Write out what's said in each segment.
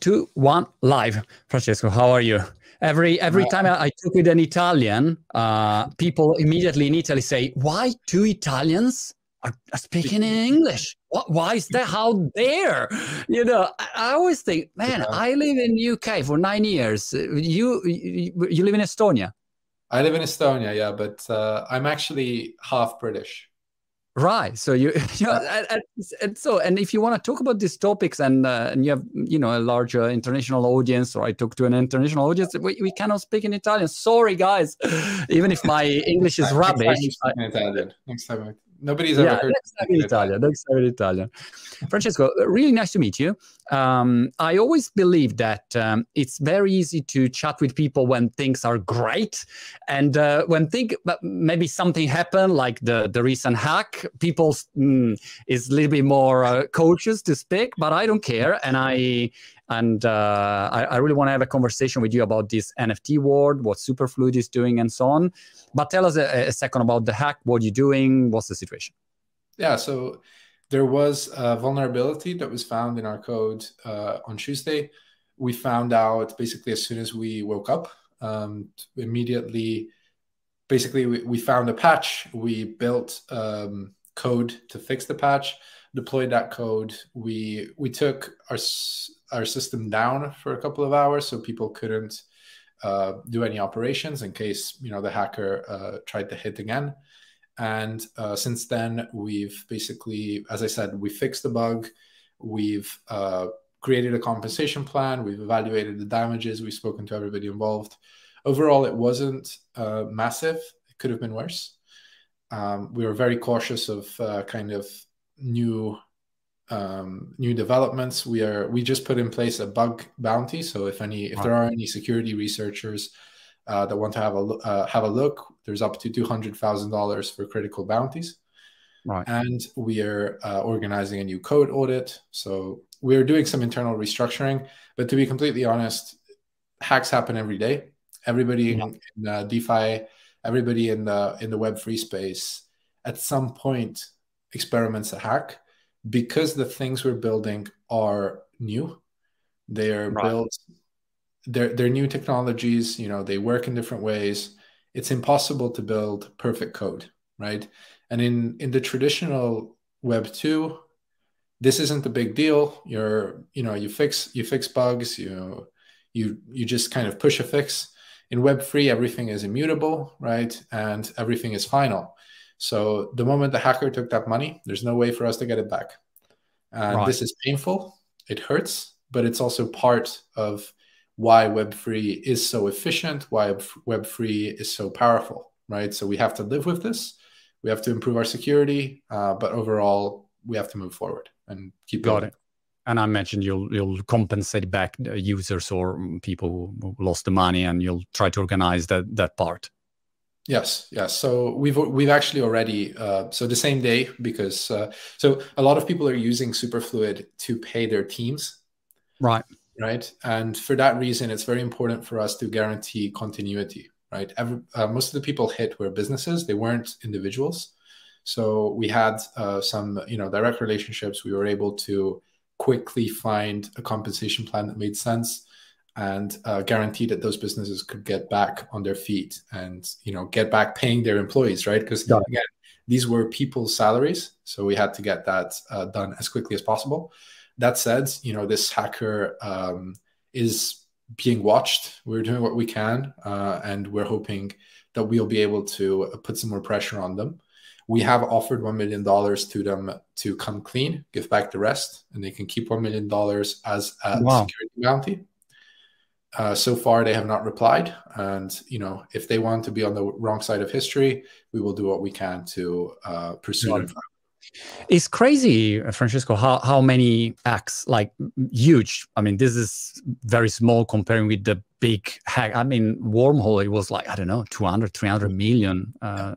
2, 1, live. Francesco, how are you? Every time I talk with an Italian, people immediately in Italy say, "Why two Italians are speaking in English? Why is that? How dare?" You know, I always think, man, I live in UK for 9 years. You live in Estonia. I live in Estonia, yeah, but I'm actually half British. Right. So and if you want to talk about these topics and you have, you know, a larger international audience, or I talk to an international audience, we cannot speak in Italian. Sorry, guys. Even if my English is rubbish. Next time. Nobody's ever heard next time in Italian. Francesco, really nice to meet you. I always believe that it's very easy to chat with people when things are great, and when maybe something happened, like the recent hack, people is a little bit more cautious to speak. But I don't care, and I really want to have a conversation with you about this NFT world, what Superfluid is doing, and so on. But tell us a second about the hack. What are you doing? What's the situation? Yeah, so there was a vulnerability that was found in our code on Tuesday. We found out basically as soon as we woke up. Immediately, basically, we found a patch. We built code to fix the patch, deployed that code. We took our system down for a couple of hours so people couldn't do any operations in case, you know, the hacker tried to hit again. And since then, we've basically, as I said, we fixed the bug. We've created a compensation plan. We've evaluated the damages. We've spoken to everybody involved. Overall, it wasn't massive. It could have been worse. We were very cautious of kind of new developments. We just put in place a bug bounty. So if there are any security researchers that want to have a look, there's up to $200,000 for critical bounties. Right. And we are organizing a new code audit. So we're doing some internal restructuring. But to be completely honest, hacks happen every day. Everybody in DeFi, everybody in the Web3 space, at some point experiments a hack, because the things we're building are new. They are built. They're new technologies. You know, they work in different ways. It's impossible to build perfect code, right? And in the traditional Web 2, this isn't a big deal. You fix bugs. You just kind of push a fix. In Web 3, everything is immutable, right? And everything is final. So the moment the hacker took that money, there's no way for us to get it back. And this is painful. It hurts, but it's also part of why Web3 is so efficient, why Web3 is so powerful, right? So we have to live with this. We have to improve our security, but overall, we have to move forward and keep going. Got it. And I mentioned you'll compensate back the users or people who lost the money, and you'll try to organize that part. Yes. So we've actually already so the same day, because so a lot of people are using Superfluid to pay their teams. Right. And for that reason, it's very important for us to guarantee continuity, right? Most of the people hit were businesses. They weren't individuals. So we had some, direct relationships. We were able to quickly find a compensation plan that made sense and guarantee that those businesses could get back on their feet and, get back paying their employees, right? Because again, these were people's salaries. So we had to get that done as quickly as possible. That said, this hacker is being watched. We're doing what we can, and we're hoping that we'll be able to put some more pressure on them. We have offered $1 million to them to come clean, give back the rest, and they can keep $1 million as a security bounty. So far, they have not replied. And, if they want to be on the wrong side of history, we will do what we can to pursue them. It's crazy, Francesco, how many hacks, like huge. I mean, this is very small comparing with the big hack. I mean, Wormhole, it was like, I don't know, 200, $300 million.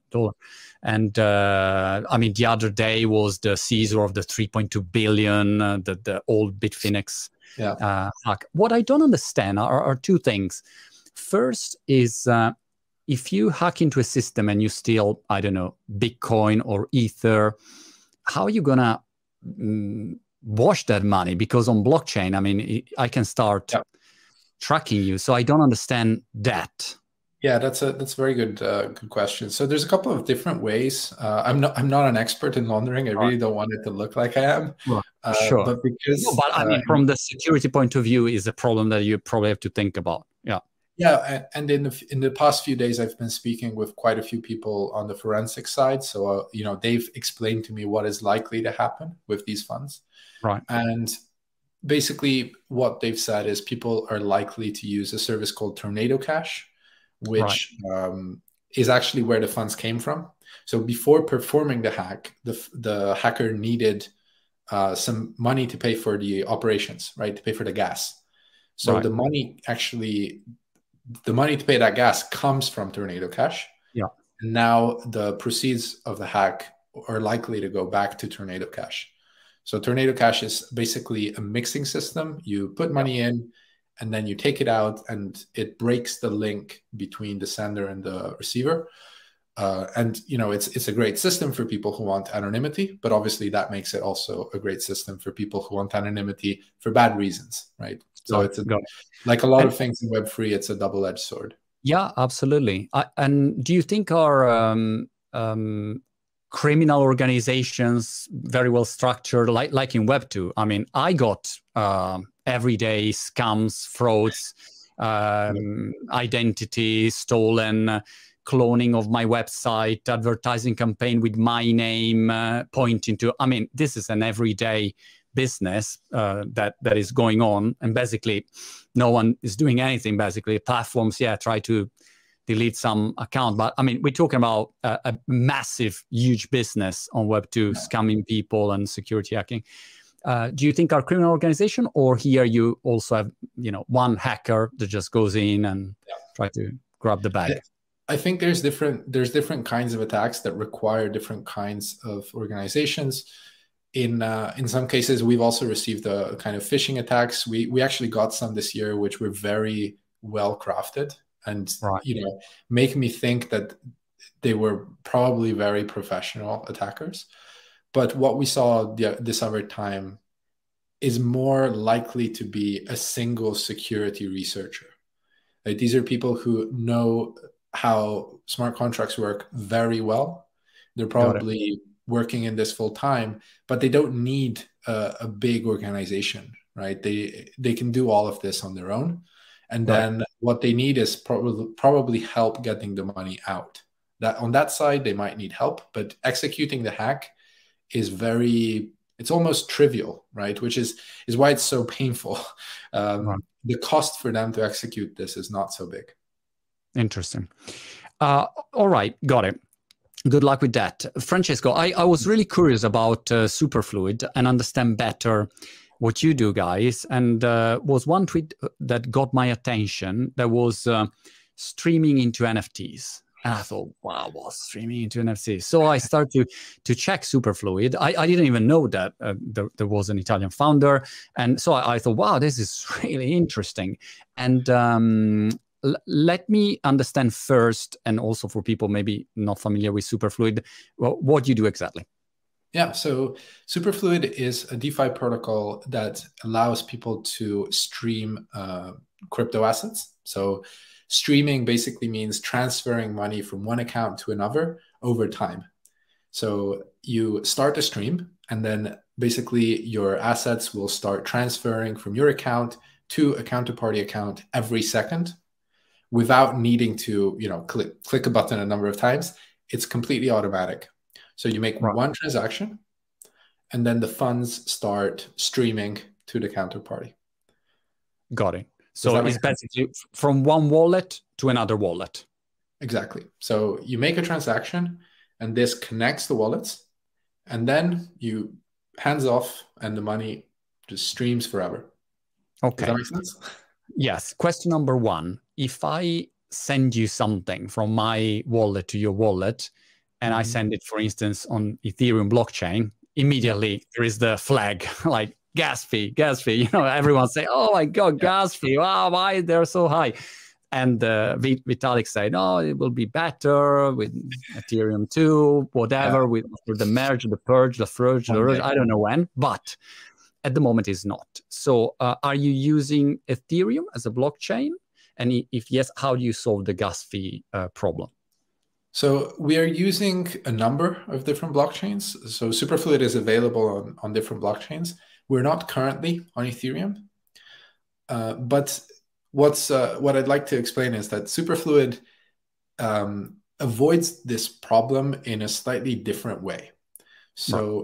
And I mean, the other day was the Caesar of the 3.2 billion, the old Bitfinex hack. What I don't understand are two things. First is if you hack into a system and you steal, I don't know, Bitcoin or Ether, how are you gonna wash that money? Because on blockchain, I mean, I can start tracking you. So I don't understand that. Yeah, that's a very good good question. So there's a couple of different ways. I'm not an expert in laundering. I really don't want it to look like I am. Well, sure, but because but I mean, from the security point of view, is a problem that you probably have to think about. Yeah. Yeah, and in the past few days, I've been speaking with quite a few people on the forensic side. So they've explained to me what is likely to happen with these funds. Right. And basically, what they've said is people are likely to use a service called Tornado Cash, which is actually where the funds came from. So before performing the hack, the hacker needed some money to pay for the operations, right? To pay for the gas. So the money to pay that gas comes from Tornado Cash. Yeah. And now the proceeds of the hack are likely to go back to Tornado Cash. So Tornado Cash is basically a mixing system. You put money in, and then you take it out, and it breaks the link between the sender and the receiver. It's a great system for people who want anonymity, but obviously that makes it also a great system for people who want anonymity for bad reasons, right? So it's like a lot of things in Web3, it's a double-edged sword. Yeah, absolutely. And do you think our criminal organizations very well structured, like in Web2? I mean, I got everyday scams, frauds, identity stolen, cloning of my website, advertising campaign with my name pointing to. I mean, this is an everyday business that is going on, and basically no one is doing anything. Basically, platforms try to delete some account, but I mean, we're talking about a massive, huge business on Web2, scamming people and security hacking. Do you think our criminal organization, or here you also have one hacker that just goes in and try to grab the bag? I think there's different kinds of attacks that require different kinds of organizations. In some cases, we've also received a kind of phishing attacks. We actually got some this year, which were very well crafted and make me think that they were probably very professional attackers. But what we saw this other time is more likely to be a single security researcher. Like, these are people who know how smart contracts work very well. They're probably working in this full time, but they don't need a big organization, right? They can do all of this on their own. And then what they need is probably help getting the money out. That on that side, they might need help, but executing the hack is it's almost trivial, right? Which is why it's so painful. The cost for them to execute this is not so big. Interesting. All right, got it. Good luck with that. Francesco, I was really curious about Superfluid and understand better what you do, guys. And was one tweet that got my attention that was streaming into NFTs. And I thought, wow, what's streaming into NFTs? So I started to check Superfluid. I didn't even know that there was an Italian founder. And so I thought, wow, this is really interesting. And let me understand first, and also for people maybe not familiar with Superfluid, what you do exactly. Yeah, so Superfluid is a DeFi protocol that allows people to stream crypto assets. So streaming basically means transferring money from one account to another over time. So you start a stream, and then basically your assets will start transferring from your account to a counterparty account every second, without needing to, click a button a number of times. It's completely automatic. So you make one transaction, and then the funds start streaming to the counterparty. Got it. So it's basically from one wallet to another wallet. Exactly. So you make a transaction, and this connects the wallets, and then you hands off, and the money just streams forever. Okay. Does that make sense? Yes. Question number one. If I send you something from my wallet to your wallet, and I send it, for instance, on Ethereum blockchain, immediately there is the flag like gas fee. Everyone say, oh my God, gas fee. Wow, why they're so high? And Vitalik said, no, it will be better with Ethereum 2, whatever, with the merge, the purge, the furge, I don't know when. But at the moment is not. So are you using Ethereum as a blockchain? And if yes, how do you solve the gas fee problem? So we are using a number of different blockchains. So Superfluid is available on different blockchains. We're not currently on Ethereum. But what I'd like to explain is that Superfluid avoids this problem in a slightly different way. So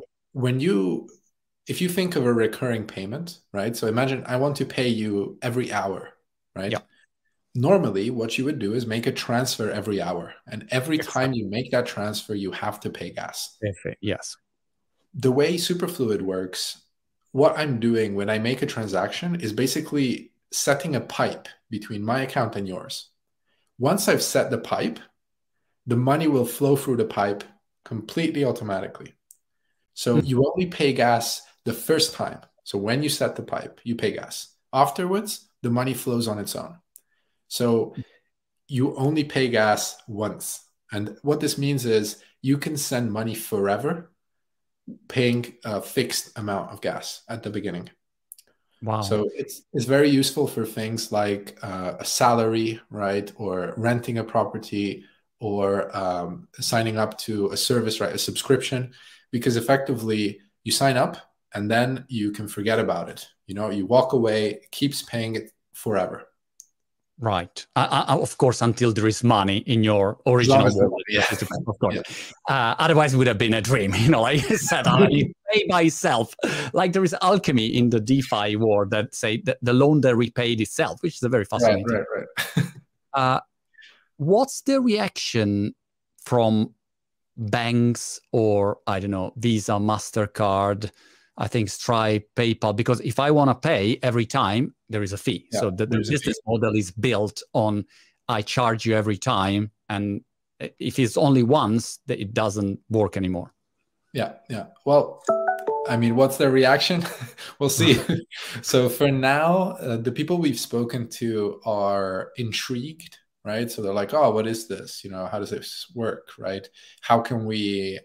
if you think of a recurring payment, right? So imagine I want to pay you every hour, right? Yeah. Normally, what you would do is make a transfer every hour. And every time you make that transfer, you have to pay gas. Yes. The way Superfluid works, what I'm doing when I make a transaction is basically setting a pipe between my account and yours. Once I've set the pipe, the money will flow through the pipe completely automatically. So you only pay gas the first time. So when you set the pipe, you pay gas. Afterwards, the money flows on its own. So you only pay gas once. And what this means is you can send money forever, paying a fixed amount of gas at the beginning. Wow. So it's very useful for things like a salary, right? Or renting a property, or signing up to a service, right? A subscription, because effectively you sign up and then you can forget about it. You walk away, it keeps paying it forever. Right. Of course, until there is money in your original wallet. Yes, of course. Yeah. Otherwise, it would have been a dream. Like you said, you pay by itself. Like there is alchemy in the DeFi world that say that the loan that repaid itself, which is a very fascinating. Right. What's the reaction from banks or, I don't know, Visa, MasterCard, I think Stripe, PayPal? Because if I want to pay every time, there is a fee. Yeah, so the business model is built on I charge you every time. And if it's only once, it doesn't work anymore. Yeah. Well, I mean, what's their reaction? We'll see. So for now, the people we've spoken to are intrigued, right? So they're like, oh, what is this? How does this work, right? How can we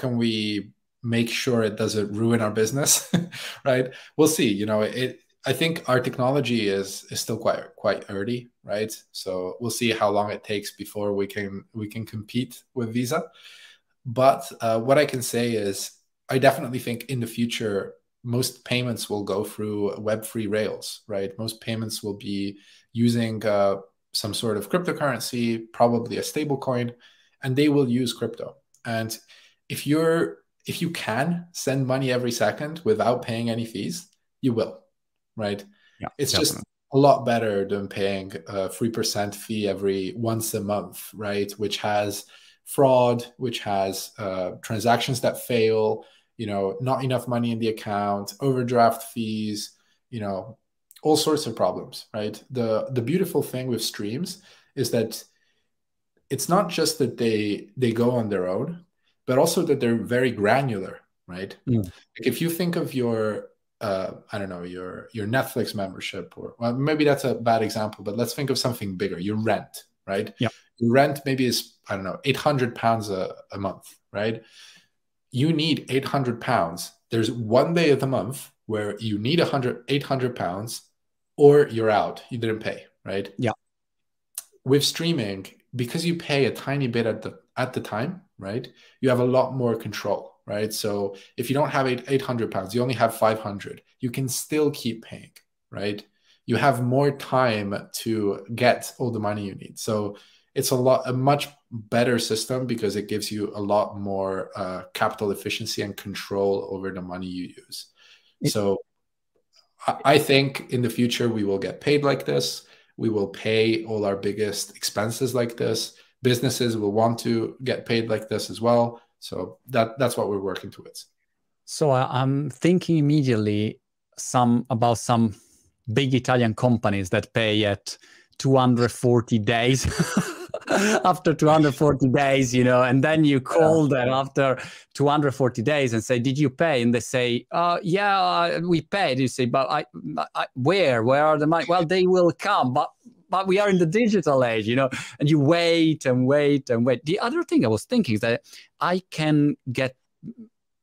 make sure it doesn't ruin our business, right? We'll see. I think our technology is still quite early, right? So we'll see how long it takes before we can compete with Visa. But what I can say is I definitely think in the future, most payments will go through Web3 rails, right? Most payments will be using some sort of cryptocurrency, probably a stable coin, and they will use crypto. And if you can send money every second without paying any fees, you will, right? Yeah, it's definitely. Just a lot better than paying a 3% fee once a month, right? Which has fraud, which has transactions that fail, not enough money in the account, overdraft fees, all sorts of problems, right? The beautiful thing with streams is that it's not just that they go on their own, but also that they're very granular, right? Like if you think of your I don't know, your Netflix membership, or well, maybe that's a bad example, but let's think of something bigger. Your rent, right? Yeah. Your rent maybe is, I don't know, £800 a month, right? You need £800. There's one day of the month where you need £800, or you're out. You didn't pay, right? Yeah. With streaming, because you pay a tiny bit at the time, right? You have a lot more control. Right. So if you don't have £800, you only have 500, you can still keep paying, right? You have more time to get all the money you need. So it's a much better system because it gives you a lot more capital efficiency and control over the money you use. So I think in the future, we will get paid like this. We will pay all our biggest expenses like this. Businesses will want to get paid like this as well. So that's what we're working towards. So I'm thinking immediately about some big Italian companies that pay at 240 days. After 240 days, and then you call them after 240 days and say, did you pay? And they say, yeah, we paid. You say, but where are the money? Well, they will come, but we are in the digital age, and you wait and wait and wait. The other thing I was thinking is that I can get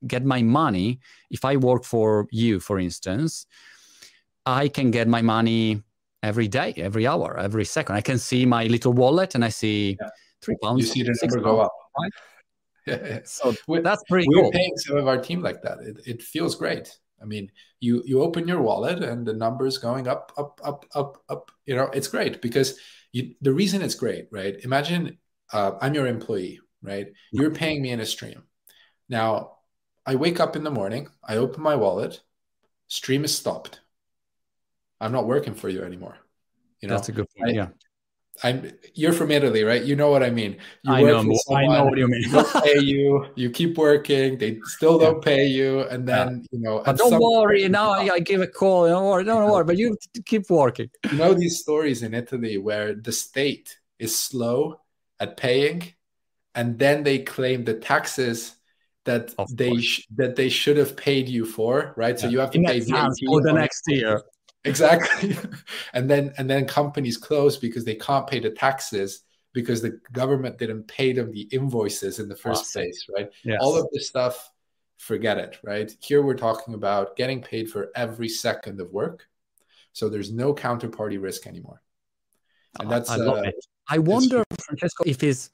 get my money. If I work for you, for instance, I can get my money every day, every hour, every second. I can see my little wallet and I see £3, You see the number £6, go up. right? So we're, that's pretty we're cool. paying some of our team like that. It feels great. I mean, you open your wallet and the number's going up, up, up, up, up. You know, it's great because the reason it's great, right? Imagine I'm your employee, right? You're paying me in a stream. Now, I wake up in the morning, I open my wallet, stream is stopped. I'm not working for you anymore. You know, that's a good point. You're from Italy, right? You know what I mean. You I work know, for someone, I know what you mean. they don't pay you, you keep working, they still don't pay you, and then you know. But don't worry, now I give a call. Don't worry, but you keep working. You know these stories in Italy where the state is slow at paying, and then they claim the taxes that they should have paid you for, right? So you have to pay VAT for the next year. Exactly. and then companies close because they can't pay the taxes because the government didn't pay them the invoices in the first place, right? Yes. All of this stuff, forget it, right? Here we're talking about getting paid for every second of work. So there's no counterparty risk anymore. And that's I love it. I wonder, Francesco, if is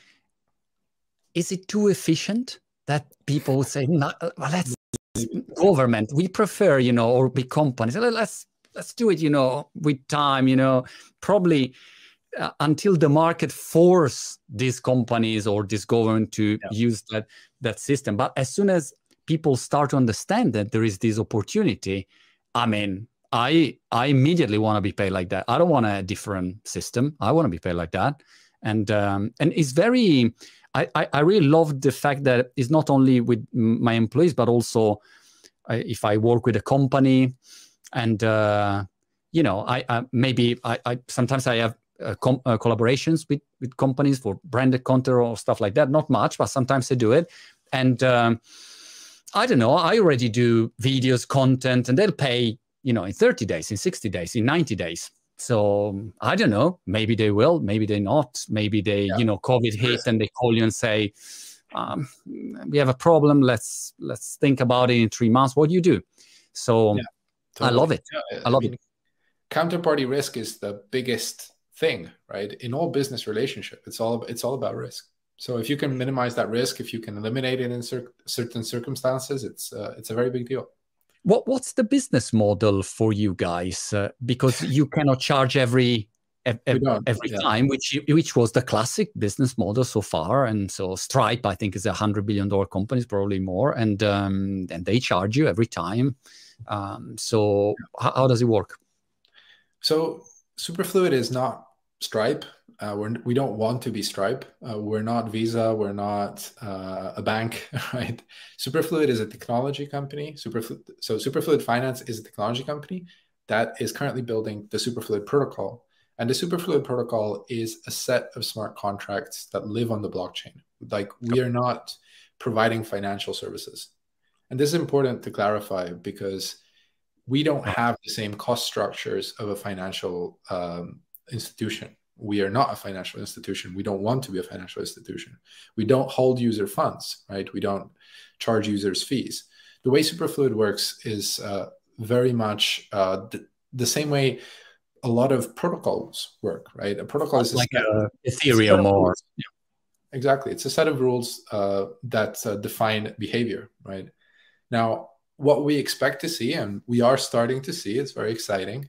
it too efficient that people would say, no, let's government, we prefer, or big companies, let's do it, with time, probably until the market force these companies or this government to use that system. But as soon as people start to understand that there is this opportunity, I mean, I immediately want to be paid like that. I don't want a different system. I want to be paid like that. And it's very, I really love the fact that it's not only with my employees, but also if I work with a company and, I sometimes I have collaborations with companies for branded content or stuff like that. Not much, but sometimes I do it. And I don't know, I already do videos, content, and they'll pay, in 30 days, in 60 days, in 90 days. So I don't know, maybe they will, maybe they not. Maybe they, COVID hit and they call you and say, we have a problem. Let's think about it in 3 months. What do you do? So totally. I love it. I love it. Counterparty risk is the biggest thing, right? In all business relationship, it's all about risk. So if you can minimize that risk, if you can eliminate it in certain circumstances, it's a very big deal. What's the business model for you guys? Because you cannot charge every time, which was the classic business model so far. And so Stripe, I think, is $100 billion company, probably more, and they charge you every time. So how does it work? So Superfluid is not Stripe. We don't want to be Stripe. We're not Visa. We're not a bank, right? Superfluid is a technology company. Superfluid Finance is a technology company that is currently building the Superfluid protocol. And the Superfluid protocol is a set of smart contracts that live on the blockchain. Like, we are not providing financial services. And this is important to clarify because we don't have the same cost structures of a financial institution. We are not a financial institution. We don't want to be a financial institution. We don't hold user funds, right? We don't charge users fees. The way Superfluid works is very much the same way a lot of protocols work, right? A protocol is like Ethereum or... Exactly. It's a set of rules that define behavior, right? Now, what we expect to see, and we are starting to see, it's very exciting,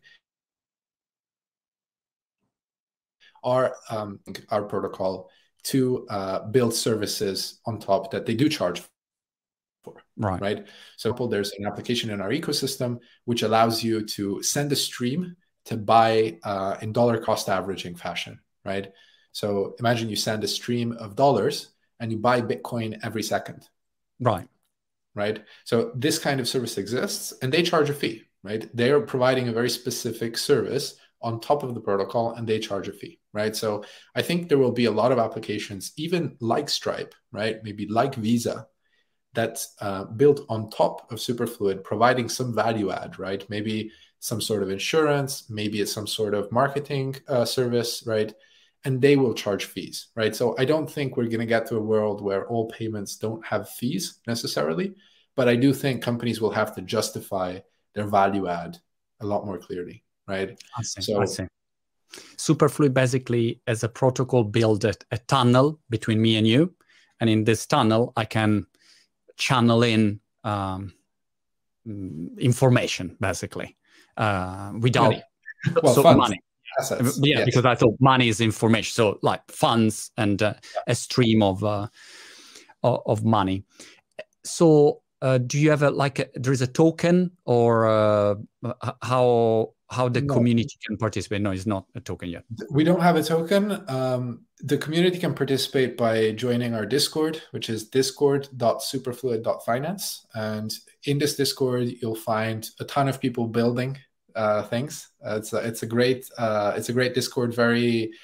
our protocol to build services on top that they do charge for, right? So there's an application in our ecosystem which allows you to send a stream to buy in dollar cost averaging fashion, right? So imagine you send a stream of dollars and you buy Bitcoin every second. Right? So this kind of service exists and they charge a fee, right? They are providing a very specific service on top of the protocol and they charge a fee, right? So I think there will be a lot of applications, even like Stripe, right? Maybe like Visa, that's built on top of Superfluid, providing some value add, right? Maybe some sort of insurance, maybe it's some sort of marketing service, right? And they will charge fees, right? So I don't think we're going to get to a world where all payments don't have fees necessarily, but I do think companies will have to justify their value add a lot more clearly, right? I see. Superfluid basically as a protocol build a tunnel between me and you, and in this tunnel I can channel in information basically without money. Assets. Yeah, yes. Because I thought money is information, so like funds and a stream of money. So do you have there is a token, or how the community can participate? No, it's not a token yet. We don't have a token. The community can participate by joining our Discord, which is discord.superfluid.finance. And in this Discord, you'll find a ton of people building things. It's a great Discord. Very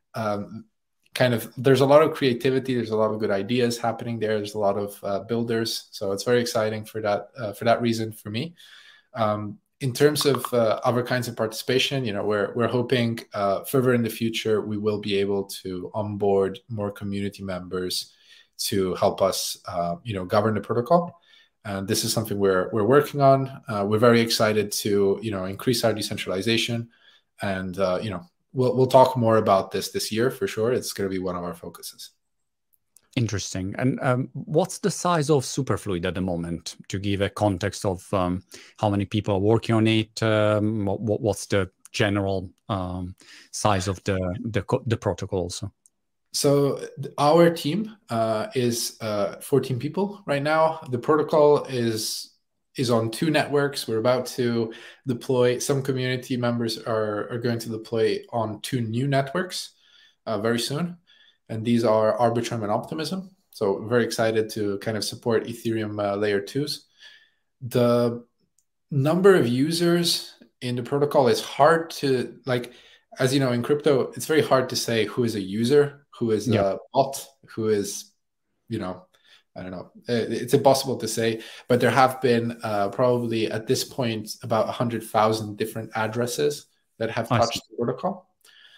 there's a lot of creativity. There's a lot of good ideas happening there. There's a lot of builders. So it's very exciting for that reason for me. In terms of other kinds of participation, we're hoping further in the future we will be able to onboard more community members to help us, govern the protocol. And this is something we're working on. We're very excited to, increase our decentralization, and we'll talk more about this year for sure. It's going to be one of our focuses. Interesting. And what's the size of Superfluid at the moment, to give a context of how many people are working on it? What's the general size of the protocol also? So our team is 14 people right now. The protocol is on 2 networks. We're about to deploy. Some community members are going to deploy on 2 new networks very soon. And these are Arbitrum and Optimism. So we're very excited to kind of support Ethereum layer 2s. The number of users in the protocol is hard to, as you know, in crypto, it's very hard to say who is a user, who is a bot, who is, I don't know. It's impossible to say, but there have been probably at this point about 100,000 different addresses that have touched the protocol.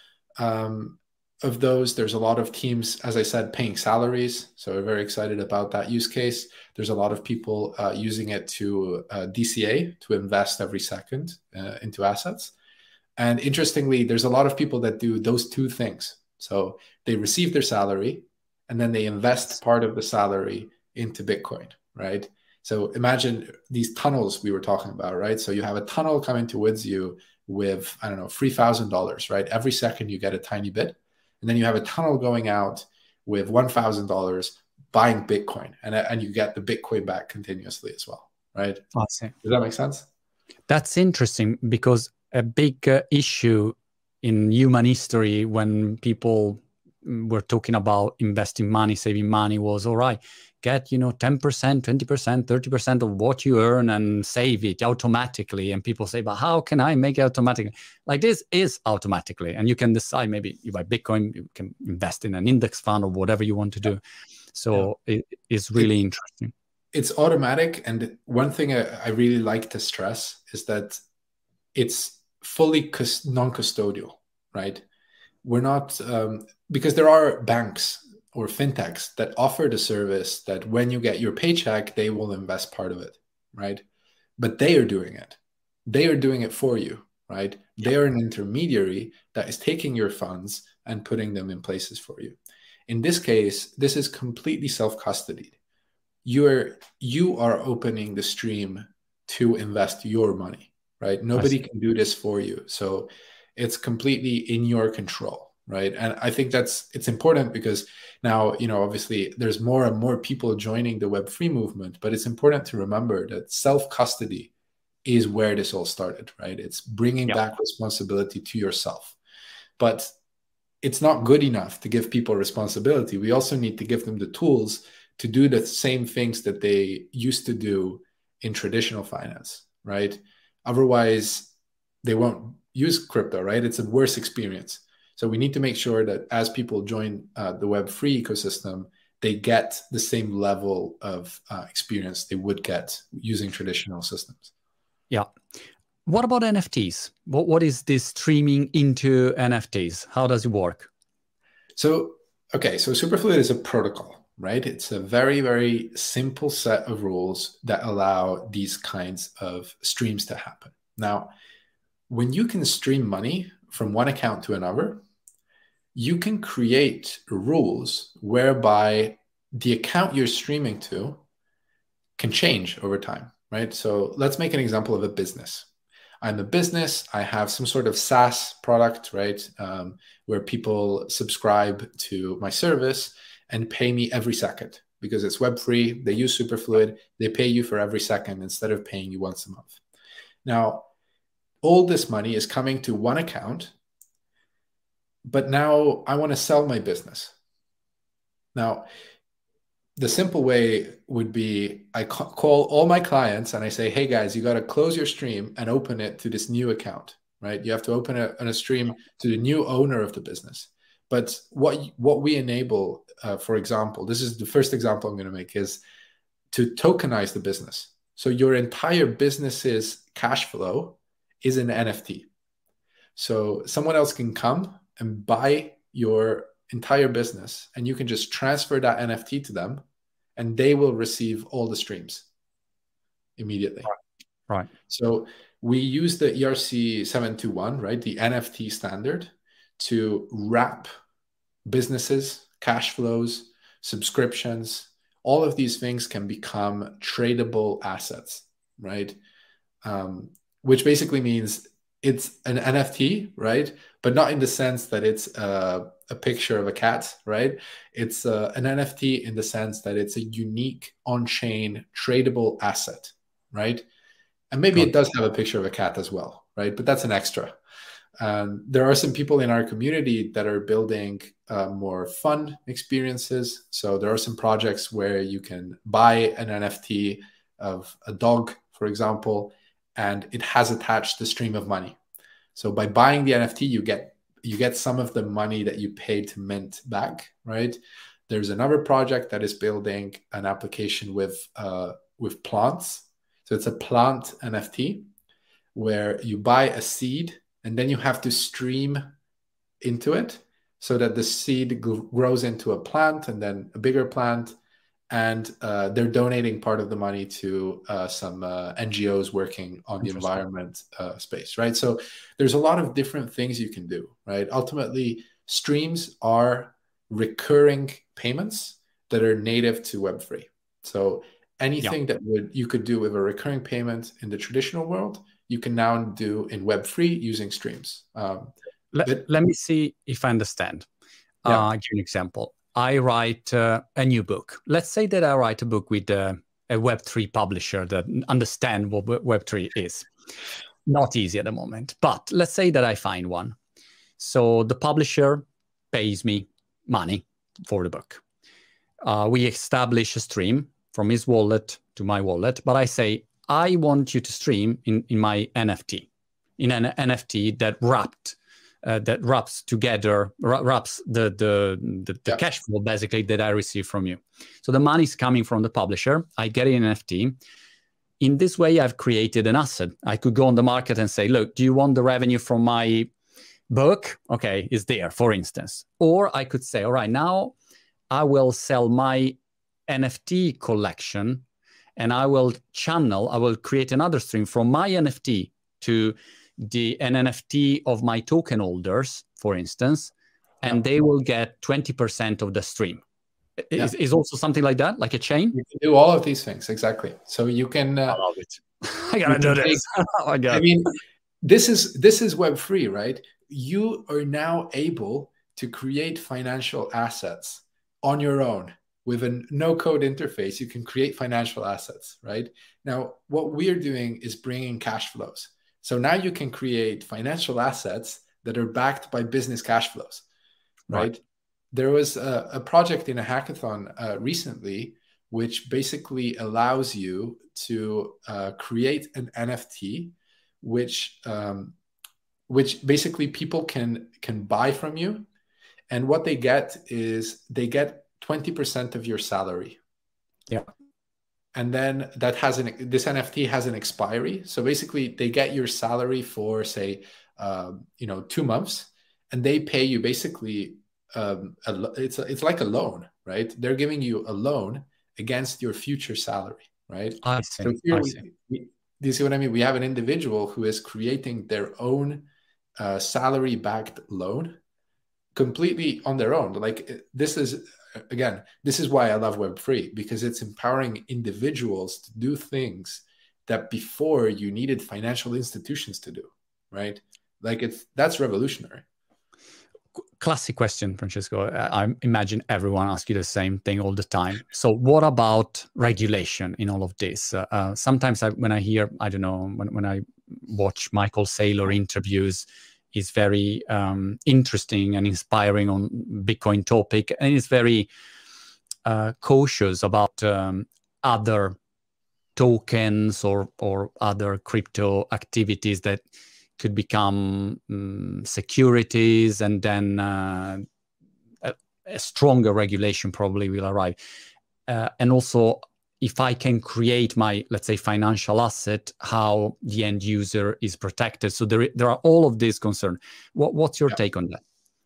Of those, there's a lot of teams, as I said, paying salaries. So we're very excited about that use case. There's a lot of people using it to DCA, to invest every second into assets. And interestingly, there's a lot of people that do those 2 things. So they receive their salary and then they invest part of the salary into Bitcoin, right? So imagine these tunnels we were talking about, right? So you have a tunnel coming towards you with, I don't know, $3,000, right? Every second you get a tiny bit. And then you have a tunnel going out with $1,000 buying Bitcoin, and you get the Bitcoin back continuously as well, right? Awesome. Does that make sense? That's interesting, because a big issue in human history when people were talking about investing money, saving money, was, all right, get 10%, 20%, 30% of what you earn and save it automatically. And people say, but how can I make it automatically? Like, this is automatically, and you can decide, maybe you buy Bitcoin, you can invest in an index fund or whatever you want to do. So it's really interesting. It's automatic. And one thing I really like to stress is that it's fully non-custodial, right? We're not, because there are banks or fintechs that offer the service that when you get your paycheck, they will invest part of it, right? But they are doing it. They are doing it for you, right? They are an intermediary that is taking your funds and putting them in places for you. In this case, this is completely self-custodied. You are opening the stream to invest your money, right? Nobody can do this for you. So it's completely in your control, right? And I think it's important, because now, obviously there's more and more people joining the Web3 movement, but it's important to remember that self-custody is where this all started, right? It's bringing back responsibility to yourself. But it's not good enough to give people responsibility. We also need to give them the tools to do the same things that they used to do in traditional finance, right? Otherwise, they won't use crypto, right? It's a worse experience. So we need to make sure that as people join the Web3 ecosystem, they get the same level of experience they would get using traditional systems. Yeah. What about NFTs? What is this streaming into NFTs? How does it work? So Superfluid is a protocol, right? It's a very, very simple set of rules that allow these kinds of streams to happen. Now, when you can stream money from one account to another, you can create rules whereby the account you're streaming to can change over time, right? So let's make an example of a business. I'm a business. I have some sort of SaaS product, right, where people subscribe to my service and pay me every second because it's web-free. They use Superfluid. They pay you for every second instead of paying you once a month. Now, all this money is coming to one account, but now I want to sell my business. Now, the simple way would be I call all my clients and I say, hey guys, you got to close your stream and open it to this new account, right? You have to open a stream to the new owner of the business. But what we enable, for example, this is the first example I'm going to make, is to tokenize the business. So your entire business's cash flow is an NFT. So someone else can come and buy your entire business and you can just transfer that NFT to them and they will receive all the streams immediately. Right. So we use the ERC 721, right? The NFT standard to wrap businesses, cash flows, subscriptions. All of these things can become tradable assets, right? Which basically means it's an NFT, right? But not in the sense that it's a picture of a cat, right? It's an NFT in the sense that it's a unique on-chain tradable asset, right? And maybe it does have a picture of a cat as well, right? But that's an extra. There are some people in our community that are building more fun experiences. So there are some projects where you can buy an NFT of a dog, for example, and it has attached the stream of money. So by buying the NFT, you get some of the money that you paid to mint back, right? There's another project that is building an application with plants. So it's a plant NFT where you buy a seed and then you have to stream into it so that the seed grows into a plant and then a bigger plant. And they're donating part of the money to some NGOs working on the environment space, right? So there's a lot of different things you can do, right? Ultimately, streams are recurring payments that are native to Web3. So anything that you could do with a recurring payment in the traditional world, you can now do in Web3 using streams. Let me see if I understand. I'll give you an example. I write a new book. Let's say that I write a book with a Web3 publisher that understands what Web3 is. Not easy at the moment, but let's say that I find one. So the publisher pays me money for the book. We establish a stream from his wallet to my wallet, but I say, I want you to stream in my NFT, in an NFT that wraps the cash flow basically that I receive from you. So the money is coming from the publisher. I get an NFT. In this way, I've created an asset. I could go on the market and say, look, do you want the revenue from my book? Okay, it's there, for instance. Or I could say, all right, now I will sell my NFT collection and I will create another stream from my NFT to an NFT of my token holders, for instance, and they will get 20% of the stream. Is also something like that, like a chain? You can do all of these things, exactly. So you can... I love it. I gotta do this. Oh my God. I mean, this is Web3, right? You are now able to create financial assets on your own. With a no-code interface, you can create financial assets, right? Now, what we're doing is bringing cash flows. So now you can create financial assets that are backed by business cash flows, right? There was a project in a hackathon recently, which basically allows you to create an NFT, which basically people can buy from you. And what they get is they get 20% of your salary. Yeah. And then this NFT has an expiry. So basically they get your salary for say, 2 months, and they pay you basically, it's like a loan, right? They're giving you a loan against your future salary, right? I see. So here I see. do you see what I mean? We have an individual who is creating their own salary-backed loan completely on their own. Like this is, again, this is why I love Web3, because it's empowering individuals to do things that before you needed financial institutions to do, right? Like that's revolutionary. Classic question, Francesco. I imagine everyone asks you the same thing all the time. So what about regulation in all of this? Sometimes when I hear, I don't know, when I watch Michael Saylor interviews, he's very interesting and inspiring on Bitcoin topic. And he's very cautious about other tokens or other crypto activities that could become securities, and then a stronger regulation probably will arrive. And also, if I can create my, let's say, financial asset, how the end user is protected. So there are all of these concerns. What's your take on that?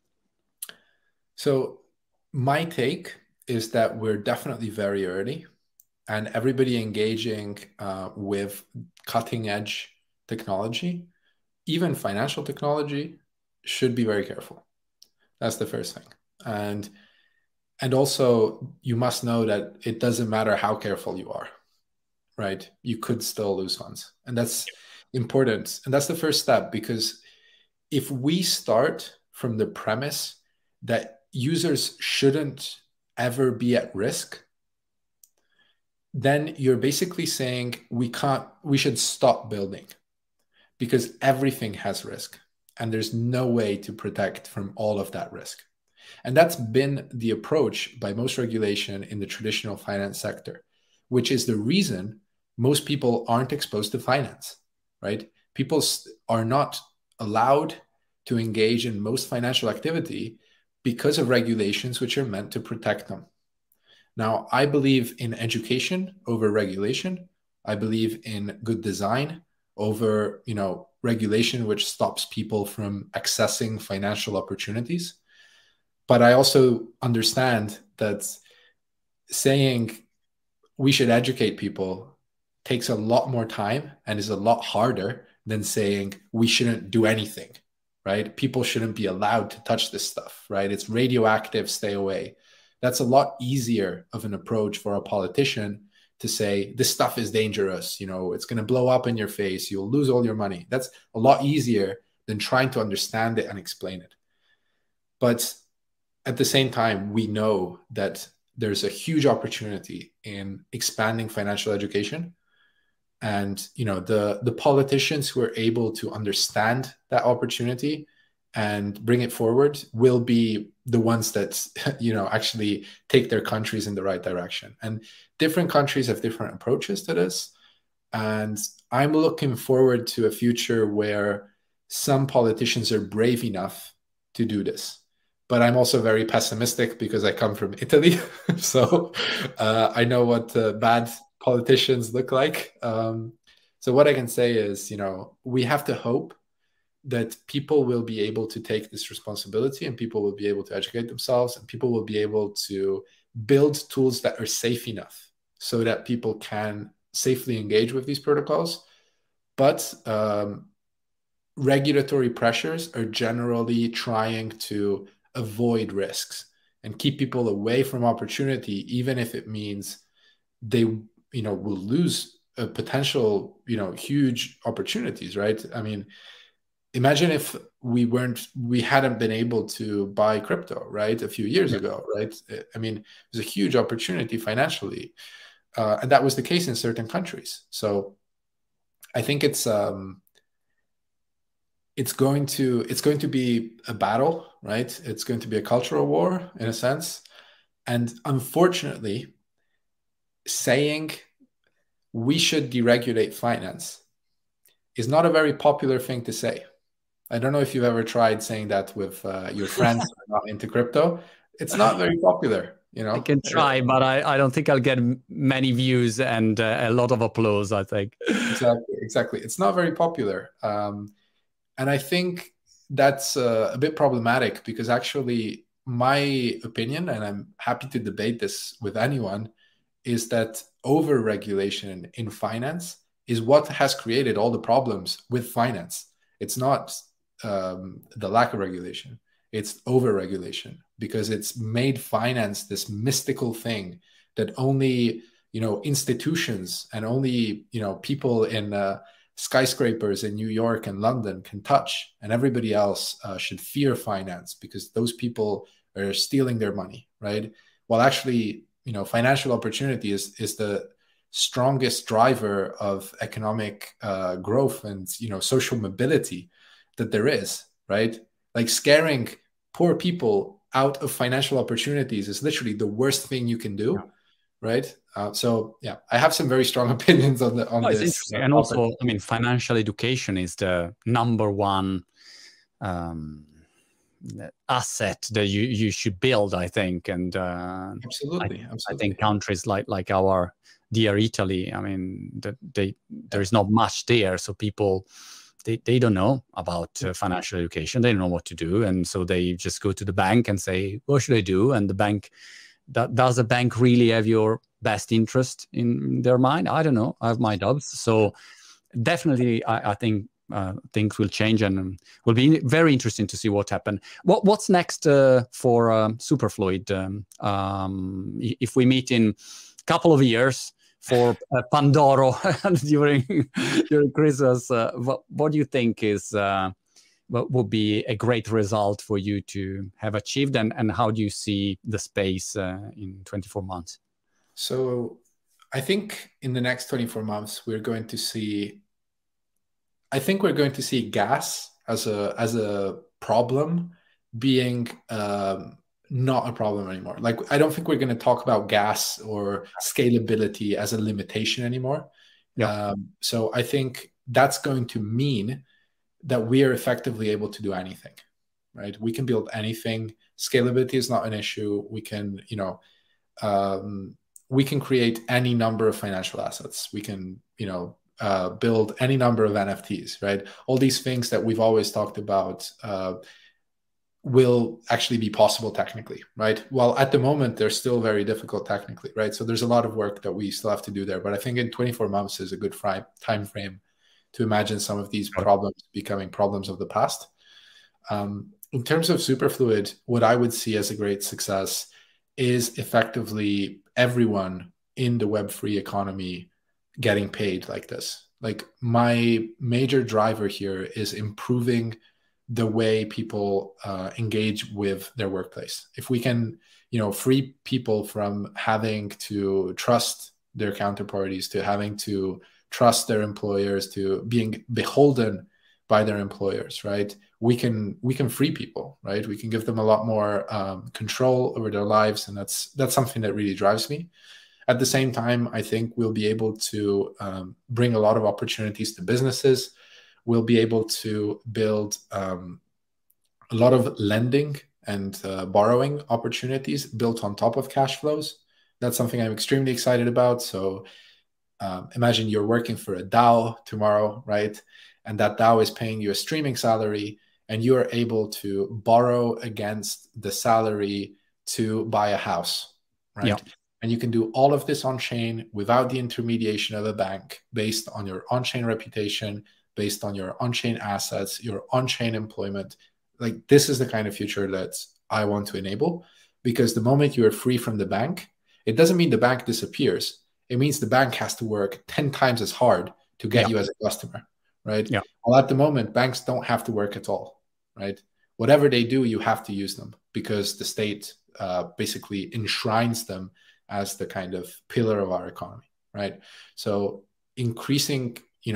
So my take is that we're definitely very early, and everybody engaging with cutting edge technology, even financial technology, should be very careful. That's the first thing. And also, you must know that it doesn't matter how careful you are, right? You could still lose funds. And that's important. And that's the first step, because if we start from the premise that users shouldn't ever be at risk, then you're basically saying we should stop building, because everything has risk and there's no way to protect from all of that risk. And that's been the approach by most regulation in the traditional finance sector, which is the reason most people aren't exposed to finance, right? People are not allowed to engage in most financial activity because of regulations which are meant to protect them. Now, I believe in education over regulation. I believe in good design over, regulation which stops people from accessing financial opportunities. But I also understand that saying we should educate people takes a lot more time and is a lot harder than saying we shouldn't do anything, right? People shouldn't be allowed to touch this stuff, right? It's radioactive, stay away. That's a lot easier of an approach for a politician to say, this stuff is dangerous, it's going to blow up in your face, you'll lose all your money. That's a lot easier than trying to understand it and explain it. But at the same time, we know that there's a huge opportunity in expanding financial education. And, the politicians who are able to understand that opportunity and bring it forward will be the ones that, actually take their countries in the right direction. And different countries have different approaches to this. And I'm looking forward to a future where some politicians are brave enough to do this. But I'm also very pessimistic because I come from Italy. So I know what bad politicians look like. So what I can say is, we have to hope that people will be able to take this responsibility, and people will be able to educate themselves, and people will be able to build tools that are safe enough so that people can safely engage with these protocols. But regulatory pressures are generally trying to avoid risks and keep people away from opportunity, even if it means they, will lose a potential, huge opportunities, right? I mean, imagine if we hadn't been able to buy crypto, right, a few years ago, right? I mean, it was a huge opportunity financially, and that was the case in certain countries. So I think it's going to be a battle, right? It's going to be a cultural war in a sense, and unfortunately, saying we should deregulate finance is not a very popular thing to say. I don't know if you've ever tried saying that with your friends who are not into crypto. It's not very popular, I can try, but I don't think I'll get many views and a lot of applause, I think. Exactly. It's not very popular. And I think that's a bit problematic, because actually my opinion, and I'm happy to debate this with anyone, is that over-regulation in finance is what has created all the problems with finance. It's not the lack of regulation, it's over-regulation, because it's made finance this mystical thing that only, institutions and only, people in skyscrapers in New York and London can touch, and everybody else should fear finance because those people are stealing their money, right? Well, actually, financial opportunity is the strongest driver of economic growth and social mobility that there is, right? Like scaring poor people out of financial opportunities is literally the worst thing you can do, right? So yeah, I have some very strong opinions on it's this. interesting. And also, I mean, financial education is the number one asset that you should build, I think. And absolutely. I think countries like our dear Italy, I mean, there is not much there, so people they don't know about financial education. They don't know what to do, and so they just go to the bank and say, "What should I do?" And the bank, does the bank really have your best interest in their mind? I don't know. I have my doubts. So definitely, I think things will change, and will be very interesting to see what happens. What's next for Superfluid? If we meet in a couple of years for Pandoro during Christmas, what do you think is what would be a great result for you to have achieved, and how do you see the space in 24 months? So I think in the next 24 months, we're going to see gas as a problem being not a problem anymore. Like, I don't think we're going to talk about gas or scalability as a limitation anymore. Yeah. So I think that's going to mean that we are effectively able to do anything, right? We can build anything. Scalability is not an issue. We can, we can create any number of financial assets. We can, build any number of NFTs, right? All these things that we've always talked about will actually be possible technically, right? Well, at the moment, they're still very difficult technically, right? So there's a lot of work that we still have to do there. But I think in 24 months is a good time frame to imagine some of these problems becoming problems of the past. In terms of Superfluid, what I would see as a great success is effectively everyone in the Web3 economy getting paid like this. Like, my major driver here is improving the way people engage with their workplace. If we can, free people from having to trust their counterparties, to having to trust their employers, to being beholden by their employers, right? We can free people, right? We can give them a lot more control over their lives, and that's something that really drives me. At the same time, I think we'll be able to bring a lot of opportunities to businesses. We'll be able to build a lot of lending and borrowing opportunities built on top of cash flows. That's something I'm extremely excited about. So imagine you're working for a DAO tomorrow, right? And that DAO is paying you a streaming salary, and you are able to borrow against the salary to buy a house, right? Yeah. And you can do all of this on chain without the intermediation of a bank, based on your on-chain reputation, based on your on-chain assets, your on-chain employment. Like, this is the kind of future that I want to enable, because the moment you are free from the bank, it doesn't mean the bank disappears. It means the bank has to work 10 times as hard to get you as a customer, right? Yeah. Well, at the moment, banks don't have to work at all, right? Whatever they do, you have to use them, because the state basically enshrines them as the kind of pillar of our economy, right? So increasing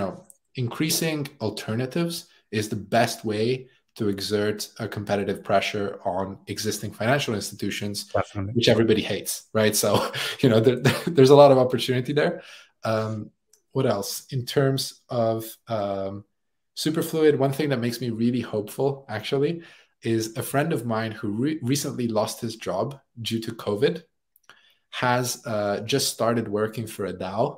alternatives is the best way to exert a competitive pressure on existing financial institutions, definitely, which everybody hates, right? So, there's a lot of opportunity there. What else? In terms of Superfluid, one thing that makes me really hopeful, actually, is a friend of mine who recently lost his job due to COVID has just started working for a DAO.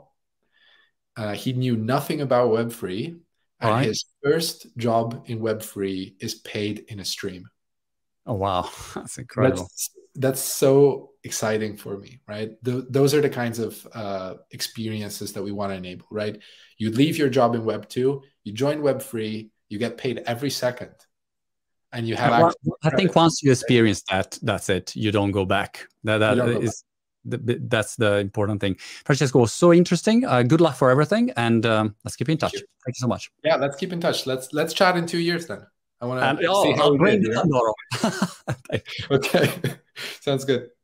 He knew nothing about Web3, and his first job in Web3 is paid in a stream. Oh, wow. That's incredible. That's so exciting for me, right? Those are the kinds of experiences that we want to enable, right? You leave your job in Web 2, you join Web3, you get paid every second, and you have access. I think once you experience that, that's it. You don't go back. That's the important thing. Francesco, was so interesting. Good luck for everything, and let's keep in touch. Thank you so much. Yeah, let's keep in touch. Let's chat in 2 years then. I want to see how I'll we bring did. Pandoro. Okay, sounds good.